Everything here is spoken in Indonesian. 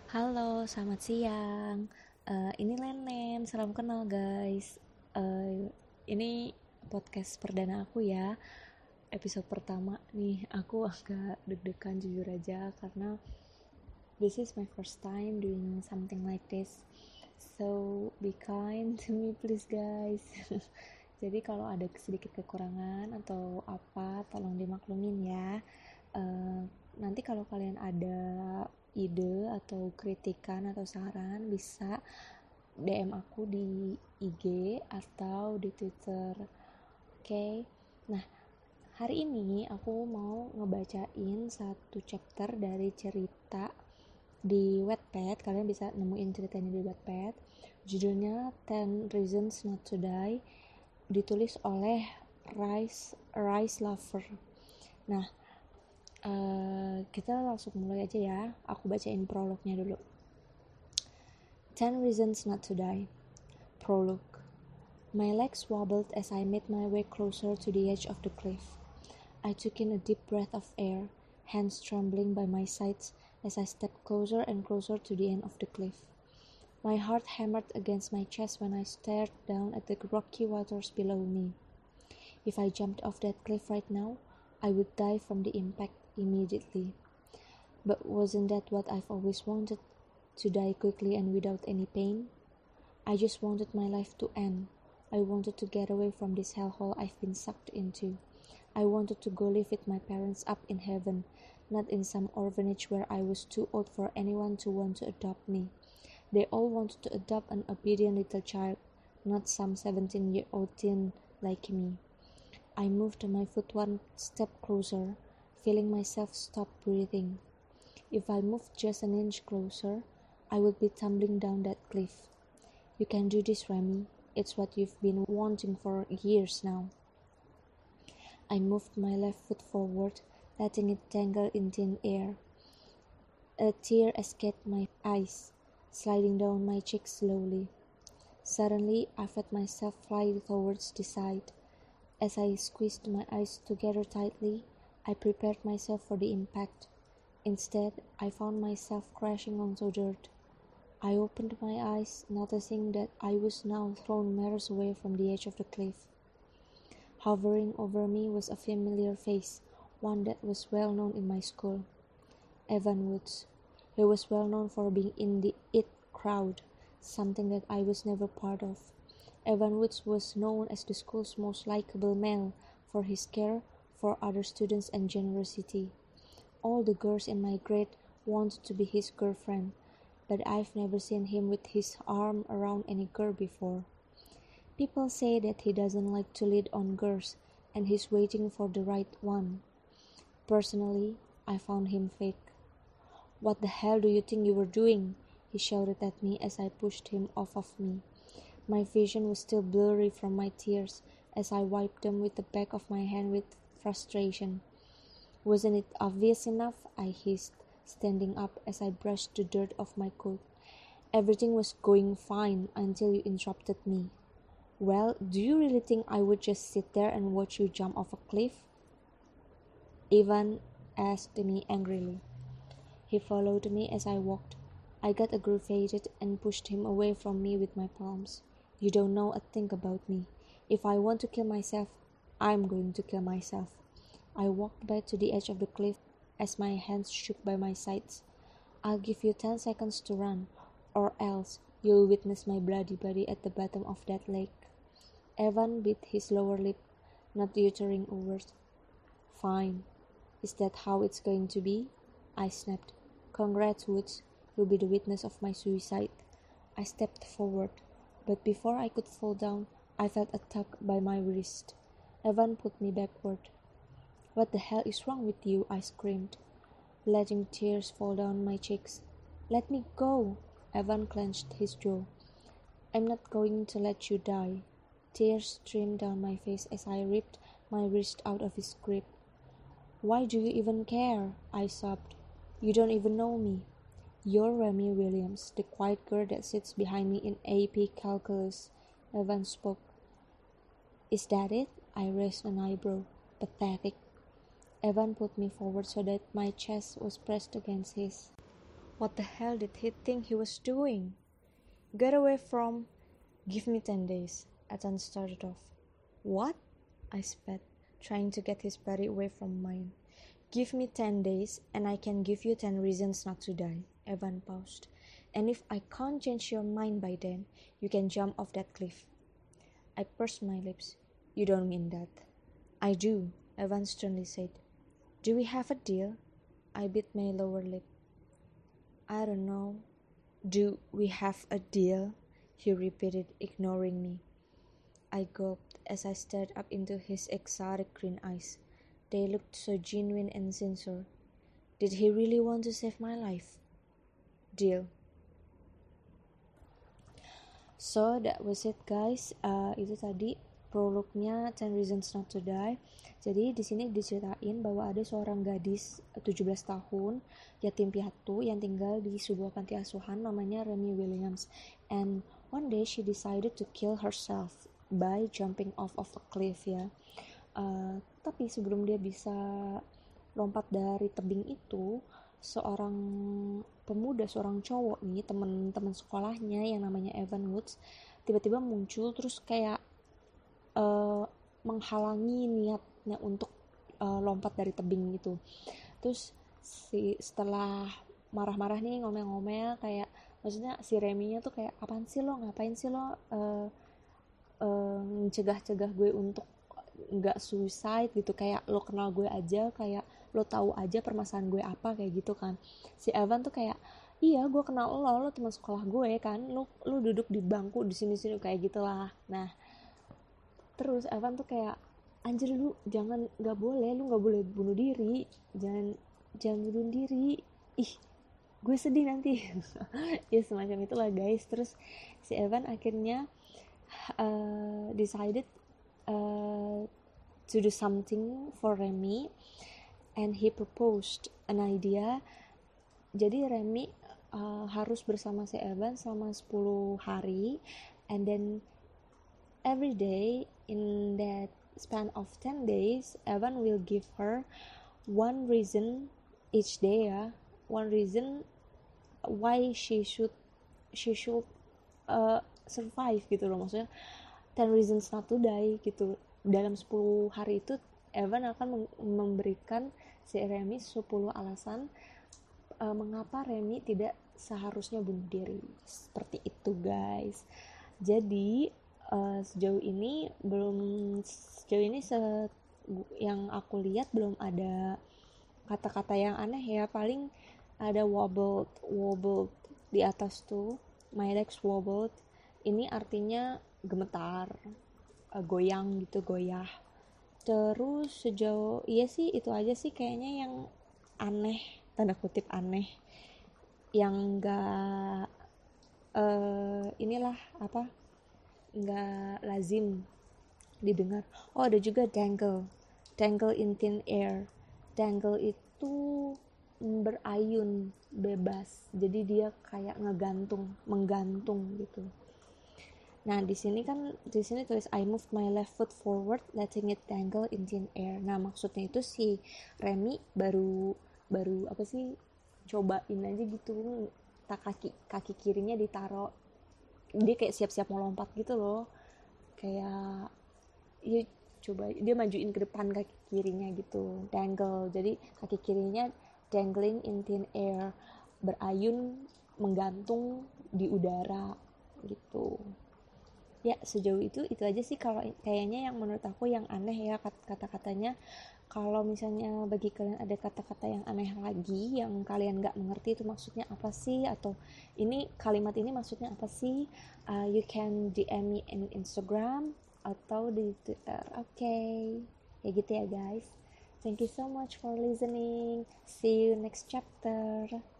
Halo, selamat siang. Ini Lenen, salam kenal guys. Ini podcast perdana aku ya. Episode pertama nih, aku agak deg-degan jujur aja karena this is my first time doing something like this. So be kind to me please guys. Jadi kalau ada sedikit kekurangan atau apa, tolong dimaklumin ya. Eh, Nanti kalau kalian ada ide atau kritikan atau saran bisa DM aku di IG atau di Twitter. Oke. Nah, hari ini aku mau ngebacain satu chapter dari cerita di Wattpad. Kalian bisa nemuin ceritanya di Wattpad. Judulnya 10 Reasons Not to Die, ditulis oleh Rice Lover. Nah, kita langsung mulai aja ya. Aku bacain prolognya dulu. 10 Reasons Not to Die. Prologue. My legs wobbled as I made my way closer to the edge of the cliff. I took in a deep breath of air, hands trembling by my sides as I stepped closer and closer to the end of the cliff. My heart hammered against my chest when I stared down at the rocky waters below me. If I jumped off that cliff right now, I would die from the impact immediately. But wasn't that what I've always wanted? To die quickly and without any pain? I just wanted my life to end. I wanted to get away from this hellhole I've been sucked into. I wanted to go live with my parents up in heaven, not in some orphanage where I was too old for anyone to want to adopt me. They all wanted to adopt an obedient little child, not some 17-year-old teen like me. I moved my foot one step closer, feeling myself stop breathing. If I moved just an inch closer, I would be tumbling down that cliff. You can do this, Remy. It's what you've been wanting for years now. I moved my left foot forward, letting it dangle in thin air. A tear escaped my eyes, sliding down my cheeks slowly. Suddenly, I felt myself fly towards the side. As I squeezed my eyes together tightly, I prepared myself for the impact. Instead, I found myself crashing onto dirt. I opened my eyes, noticing that I was now thrown meters away from the edge of the cliff. Hovering over me was a familiar face, one that was well known in my school. Evan Woods. He was well known for being in the IT crowd, something that I was never part of. Evan Woods was known as the school's most likable male for his care for other students and generosity. All the girls in my grade wanted to be his girlfriend, but I've never seen him with his arm around any girl before. People say that he doesn't like to lead on girls, and he's waiting for the right one. Personally, I found him fake. What the hell do you think you were doing? He shouted at me as I pushed him off of me. My vision was still blurry from my tears as I wiped them with the back of my hand with frustration. Wasn't it obvious enough? I hissed, standing up as I brushed the dirt off my coat. Everything was going fine until you interrupted me. Well, do you really think I would just sit there and watch you jump off a cliff? Ivan asked me angrily. He followed me as I walked. I got aggravated and pushed him away from me with my palms. You don't know a thing about me. If I want to kill myself, I'm going to kill myself. I walked back to the edge of the cliff as my hands shook by my sides. I'll give you 10 seconds to run, or else you'll witness my bloody body at the bottom of that lake. Evan bit his lower lip, not uttering a word. Fine. Is that how it's going to be? I snapped. Congrats, Woods. You'll be the witness of my suicide. I stepped forward, but before I could fall down, I felt a tug by my wrist. Evan put me backward. What the hell is wrong with you? I screamed, letting tears fall down my cheeks. Let me go! Evan clenched his jaw. I'm not going to let you die. Tears streamed down my face as I ripped my wrist out of his grip. Why do you even care? I sobbed. You don't even know me. You're Remy Williams, the quiet girl that sits behind me in AP Calculus. Evan spoke. Is that it? I raised an eyebrow. Pathetic. Evan put me forward so that my chest was pressed against his. What the hell did he think he was doing? Get away from... Give me 10 days, Ethan started off. What? I spat, trying to get his body away from mine. Give me 10 days, and I can give you 10 reasons not to die, Evan paused. And if I can't change your mind by then, you can jump off that cliff. I pursed my lips. You don't mean that. I do, Evan sternly said. Do we have a deal? I bit my lower lip. I don't know. Do we have a deal? He repeated, ignoring me. I gulped as I stared up into his exotic green eyes. They looked so genuine and sincere. Did he really want to save my life? Deal. So that was it guys. Itu tadi prolognya 10 Reasons Not to Die. Jadi di sini diceritain bahwa ada seorang gadis 17 tahun yatim piatu yang tinggal di sebuah panti asuhan namanya Remy Williams. And one day she decided to kill herself by jumping off of a cliff ya. Tapi sebelum dia bisa lompat dari tebing itu, seorang pemuda, seorang cowok nih, teman-teman sekolahnya yang namanya Evan Woods tiba-tiba muncul terus kayak menghalangi niatnya untuk lompat dari tebing gitu. Terus setelah marah-marah nih, ngomel-ngomel, kayak maksudnya si Remy-nya tuh kayak, apaan sih lo, ngapain sih lo mencegah-cegah gue untuk nggak suicide gitu, kayak lo kenal gue aja, kayak lo tahu aja permasalahan gue apa, kayak gitu kan. Si Evan tuh kayak, iya gue kenal lo teman sekolah gue kan, lo duduk di bangku di sini kayak gitulah. Nah terus Evan tuh kayak, anjir lu nggak boleh bunuh diri, jangan bunuh diri, ih gue sedih nanti. Ya semacam itulah guys. Terus si Evan akhirnya decided to do something for Remy, and he proposed an idea. Jadi Remy harus bersama si Evan selama 10 hari, and then every day in that span of 10 days Evan will give her one reason each day ya, one reason why she should survive gitu loh, maksudnya 10 reasons not to die gitu. Dalam 10 hari itu Evan akan memberikan si Remy 10 alasan mengapa Remy tidak seharusnya bunuh diri. Seperti itu guys. Jadi sejauh ini yang aku lihat belum ada kata-kata yang aneh ya. Paling ada wobbled di atas tuh, my legs wobbled. Ini artinya gemetar, goyang gitu, goyah. Terus sejauh sih itu aja sih kayaknya yang aneh, tanda kutip aneh, yang enggak nggak lazim didengar. Oh ada juga dangle in thin air. Dangle itu berayun bebas, jadi dia kayak menggantung gitu. Nah di sini tulis I moved my left foot forward letting it dangle in thin air. Nah maksudnya itu si Remy baru cobain aja gitu, kaki kirinya ditaruh, dia kayak siap-siap mau lompat gitu loh, kayak ya coba dia majuin ke depan kaki kirinya gitu, dangle. Jadi kaki kirinya dangling in thin air, berayun menggantung di udara gitu. Ya sejauh itu aja sih kalau kayaknya yang menurut aku yang aneh ya kata-katanya. Kalau misalnya bagi kalian ada kata-kata yang aneh lagi yang kalian gak mengerti itu maksudnya apa sih, atau ini kalimat ini maksudnya apa sih, you can DM me in Instagram atau di Twitter. Okay, ya gitu ya guys. Thank you so much for listening. See you next chapter.